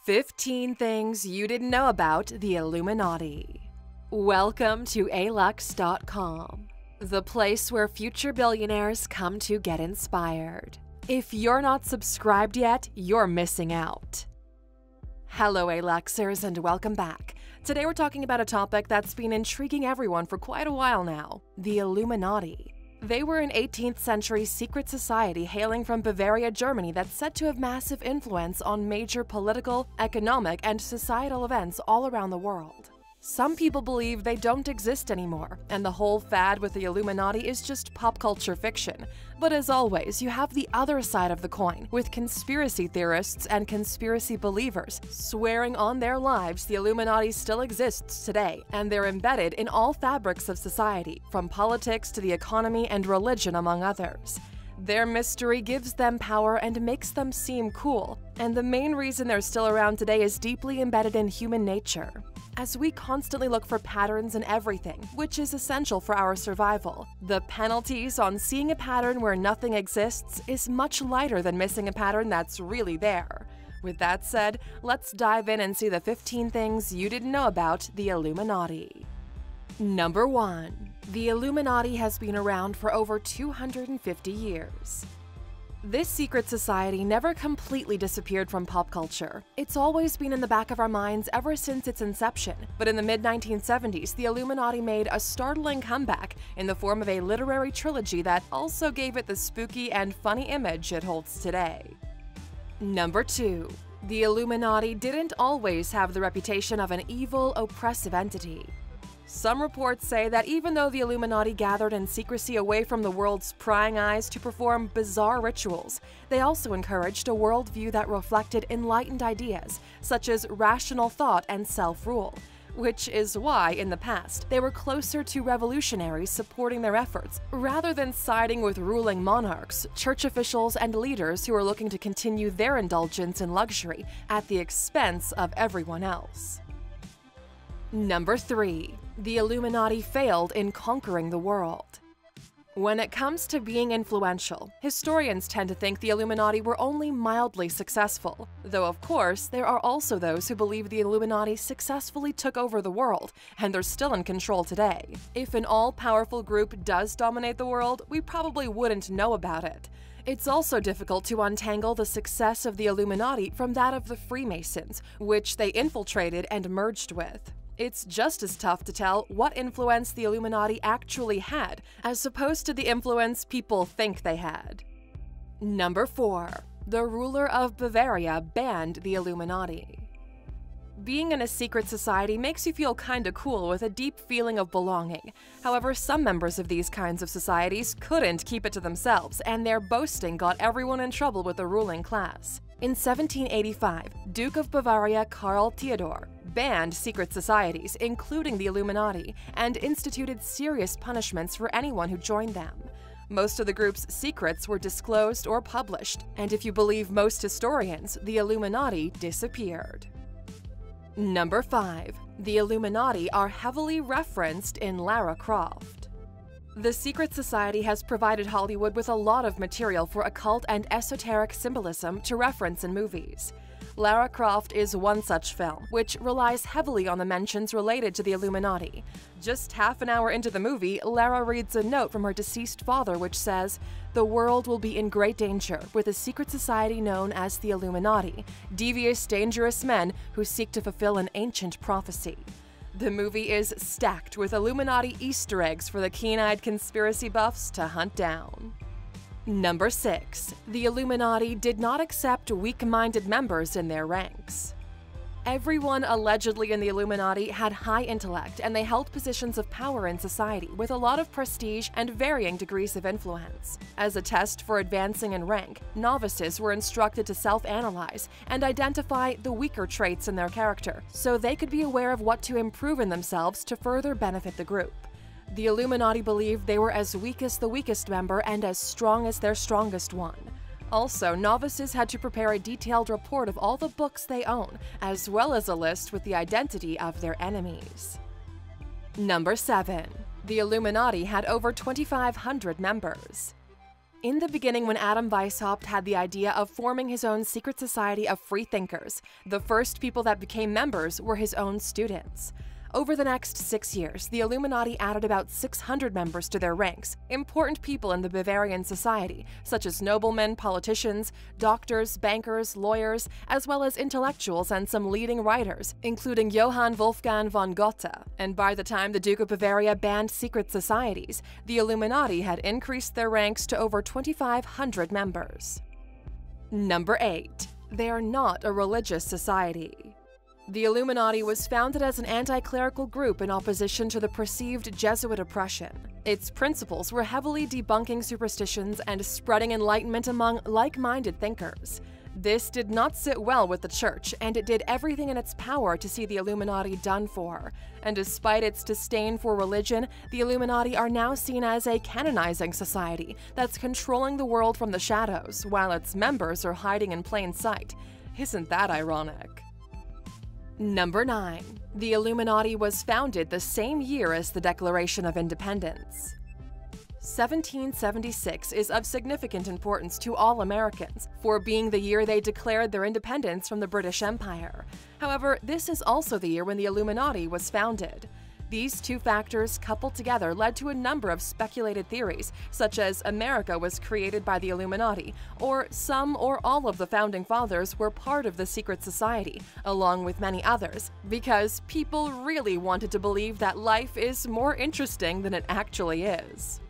15 Things You Didn't Know About the Illuminati. Welcome to alux.com, the place where future billionaires come to get inspired. If you're not subscribed yet, you're missing out. Hello Aluxers and welcome back. Today we're talking about a topic that's been intriguing everyone for quite a while now, the Illuminati. They were an 18th century secret society hailing from Bavaria, Germany that's said to have massive influence on major political, economic, and societal events all around the world. Some people believe they don't exist anymore, and the whole fad with the Illuminati is just pop culture fiction. But as always, you have the other side of the coin, with conspiracy theorists and conspiracy believers swearing on their lives the Illuminati still exists today, and they're embedded in all fabrics of society, from politics to the economy and religion, among others. Their mystery gives them power and makes them seem cool, and the main reason they're still around today is deeply embedded in human nature. As we constantly look for patterns in everything, which is essential for our survival, the penalties on seeing a pattern where nothing exists is much lighter than missing a pattern that's really there. With that said, let's dive in and see the 15 things you didn't know about the Illuminati. Number 1. The Illuminati has been around for over 250 years. This secret society never completely disappeared from pop culture. It's always been in the back of our minds ever since its inception, but in the mid-1970s, the Illuminati made a startling comeback in the form of a literary trilogy that also gave it the spooky and funny image it holds today. Number 2. The Illuminati didn't always have the reputation of an evil, oppressive entity. Some reports say that even though the Illuminati gathered in secrecy away from the world's prying eyes to perform bizarre rituals, they also encouraged a worldview that reflected enlightened ideas, such as rational thought and self-rule, which is why, in the past, they were closer to revolutionaries supporting their efforts, rather than siding with ruling monarchs, church officials, and leaders who were looking to continue their indulgence in luxury at the expense of everyone else. Number 3. The Illuminati failed in conquering the world. When it comes to being influential, historians tend to think the Illuminati were only mildly successful, though of course there are also those who believe the Illuminati successfully took over the world, and they're still in control today. If an all-powerful group does dominate the world, we probably wouldn't know about it. It's also difficult to untangle the success of the Illuminati from that of the Freemasons, which they infiltrated and merged with. It's just as tough to tell what influence the Illuminati actually had, as opposed to the influence people think they had. Number 4. The ruler of Bavaria banned the Illuminati. Being in a secret society makes you feel kinda cool with a deep feeling of belonging. However, some members of these kinds of societies couldn't keep it to themselves, and their boasting got everyone in trouble with the ruling class. In 1785, Duke of Bavaria Karl Theodor banned secret societies, including the Illuminati, and instituted serious punishments for anyone who joined them. Most of the group's secrets were disclosed or published, and if you believe most historians, the Illuminati disappeared. Number 5. The Illuminati are heavily referenced in Lara Croft. The secret society has provided Hollywood with a lot of material for occult and esoteric symbolism to reference in movies. Lara Croft is one such film, which relies heavily on the mentions related to the Illuminati. Just half an hour into the movie, Lara reads a note from her deceased father which says, "The world will be in great danger with a secret society known as the Illuminati, devious, dangerous men who seek to fulfill an ancient prophecy." The movie is stacked with Illuminati Easter eggs for the keen-eyed conspiracy buffs to hunt down. Number 6. The Illuminati did not accept weak-minded members in their ranks. Everyone allegedly in the Illuminati had high intellect, and they held positions of power in society with a lot of prestige and varying degrees of influence. As a test for advancing in rank, novices were instructed to self-analyze and identify the weaker traits in their character, so they could be aware of what to improve in themselves to further benefit the group. The Illuminati believed they were as weak as the weakest member and as strong as their strongest one. Also, novices had to prepare a detailed report of all the books they own, as well as a list with the identity of their enemies. Number 7. The Illuminati had over 2,500 members. In the beginning, when Adam Weishaupt had the idea of forming his own secret society of free thinkers, the first people that became members were his own students. Over the next 6 years, the Illuminati added about 600 members to their ranks, important people in the Bavarian society, such as noblemen, politicians, doctors, bankers, lawyers, as well as intellectuals and some leading writers, including Johann Wolfgang von Goethe. And by the time the Duke of Bavaria banned secret societies, the Illuminati had increased their ranks to over 2,500 members. Number 8. They are not a religious society. The Illuminati was founded as an anti-clerical group in opposition to the perceived Jesuit oppression. Its principles were heavily debunking superstitions and spreading enlightenment among like-minded thinkers. This did not sit well with the church, and it did everything in its power to see the Illuminati done for. And despite its disdain for religion, the Illuminati are now seen as a canonizing society that's controlling the world from the shadows, while its members are hiding in plain sight. Isn't that ironic? Number 9. The Illuminati was founded the same year as the Declaration of Independence. 1776 is of significant importance to all Americans, for being the year they declared their independence from the British Empire. However, this is also the year when the Illuminati was founded. These two factors coupled together led to a number of speculated theories, such as America was created by the Illuminati, or some or all of the founding fathers were part of the secret society, along with many others, because people really wanted to believe that life is more interesting than it actually is.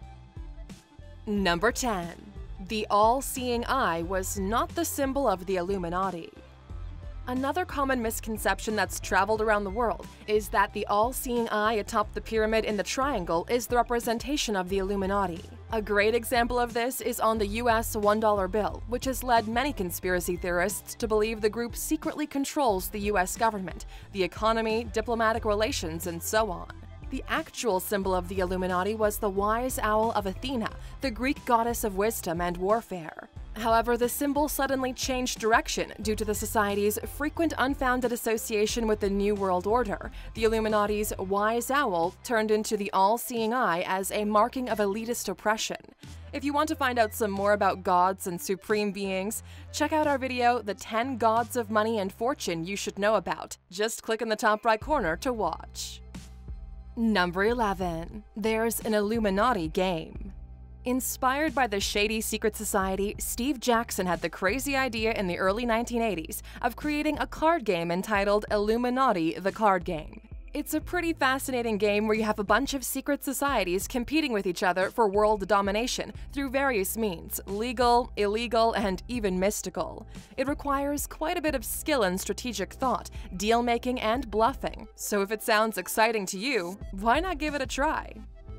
Number 10. The all-seeing eye was not the symbol of the Illuminati. Another common misconception that's traveled around the world is that the all-seeing eye atop the pyramid in the triangle is the representation of the Illuminati. A great example of this is on the US $1 bill, which has led many conspiracy theorists to believe the group secretly controls the US government, the economy, diplomatic relations, and so on. The actual symbol of the Illuminati was the wise owl of Athena, the Greek goddess of wisdom and warfare. However, the symbol suddenly changed direction due to the society's frequent unfounded association with the New World Order. The Illuminati's wise owl turned into the all-seeing eye as a marking of elitist oppression. If you want to find out some more about gods and supreme beings, check out our video, The 10 Gods of Money and Fortune You Should Know About. Just click in the top right corner to watch. Number 11. There's an Illuminati game. Inspired by the shady secret society, Steve Jackson had the crazy idea in the early 1980s of creating a card game entitled Illuminati: The Card Game. It's a pretty fascinating game where you have a bunch of secret societies competing with each other for world domination through various means, legal, illegal, and even mystical. It requires quite a bit of skill and strategic thought, deal-making, and bluffing. So if it sounds exciting to you, why not give it a try?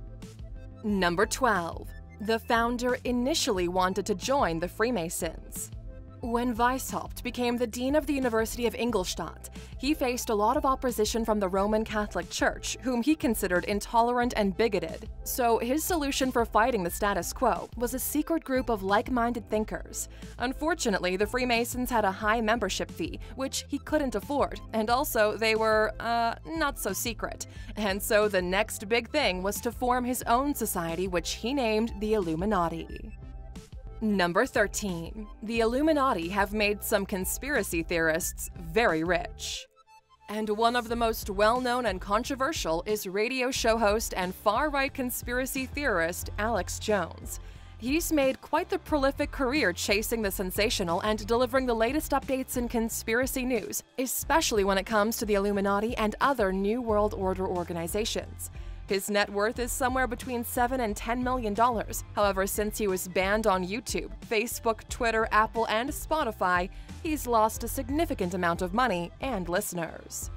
Number 12. The founder initially wanted to join the Freemasons. When Weishaupt became the dean of the University of Ingolstadt, he faced a lot of opposition from the Roman Catholic Church, whom he considered intolerant and bigoted. So his solution for fighting the status quo was a secret group of like-minded thinkers. Unfortunately, the Freemasons had a high membership fee, which he couldn't afford, and also they were, not so secret. And so the next big thing was to form his own society, which he named the Illuminati. Number 13. The Illuminati have made some conspiracy theorists very rich. And one of the most well-known and controversial is radio show host and far-right conspiracy theorist Alex Jones. He's made quite the prolific career chasing the sensational and delivering the latest updates in conspiracy news, especially when it comes to the Illuminati and other New World Order organizations. His net worth is somewhere between $7 and $10 million. However, since he was banned on YouTube, Facebook, Twitter, Apple, and Spotify, he's lost a significant amount of money and listeners.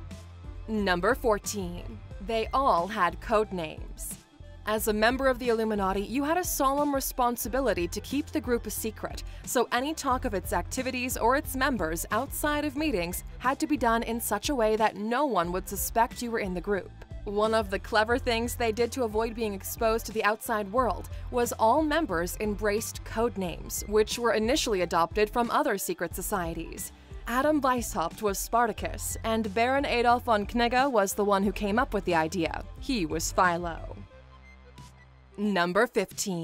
Number 14. They all had code names. As a member of the Illuminati, you had a solemn responsibility to keep the group a secret, so any talk of its activities or its members outside of meetings had to be done in such a way that no one would suspect you were in the group. One of the clever things they did to avoid being exposed to the outside world was all members embraced code names, which were initially adopted from other secret societies. Adam Weishaupt was Spartacus, and Baron Adolf von Knigge was the one who came up with the idea. He was Philo. Number 15.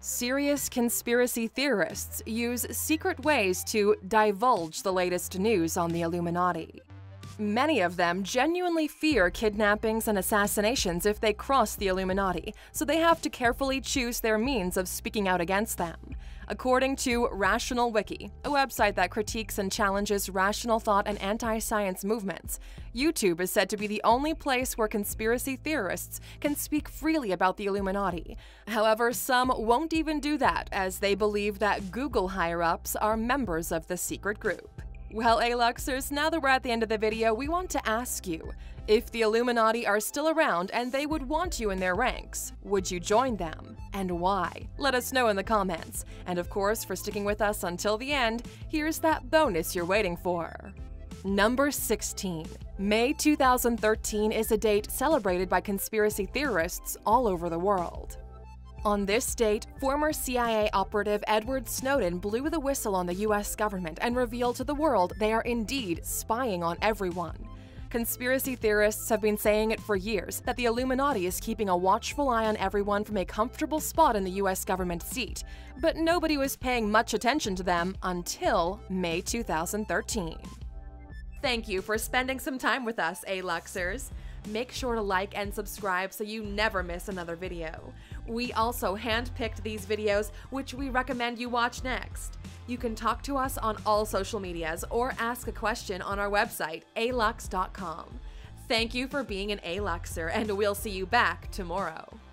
Serious conspiracy theorists use secret ways to divulge the latest news on the Illuminati. Many of them genuinely fear kidnappings and assassinations if they cross the Illuminati, so they have to carefully choose their means of speaking out against them. According to Rational Wiki, a website that critiques and challenges rational thought and anti-science movements, YouTube is said to be the only place where conspiracy theorists can speak freely about the Illuminati. However, some won't even do that, as they believe that Google higher-ups are members of the secret group. Well, A-Luxers, now that we're at the end of the video, we want to ask you, if the Illuminati are still around and they would want you in their ranks, would you join them? And why? Let us know in the comments. And of course, for sticking with us until the end, here's that bonus you're waiting for. Number 16. May 2013 is a date celebrated by conspiracy theorists all over the world. On this date, former CIA operative Edward Snowden blew the whistle on the US government and revealed to the world they are indeed spying on everyone. Conspiracy theorists have been saying it for years that the Illuminati is keeping a watchful eye on everyone from a comfortable spot in the US government seat, but nobody was paying much attention to them until May 2013. Thank you for spending some time with us, A-Luxers. Make sure to like and subscribe so you never miss another video. We also handpicked these videos, which we recommend you watch next. You can talk to us on all social medias or ask a question on our website, alux.com. Thank you for being an A-Luxer, and we'll see you back tomorrow.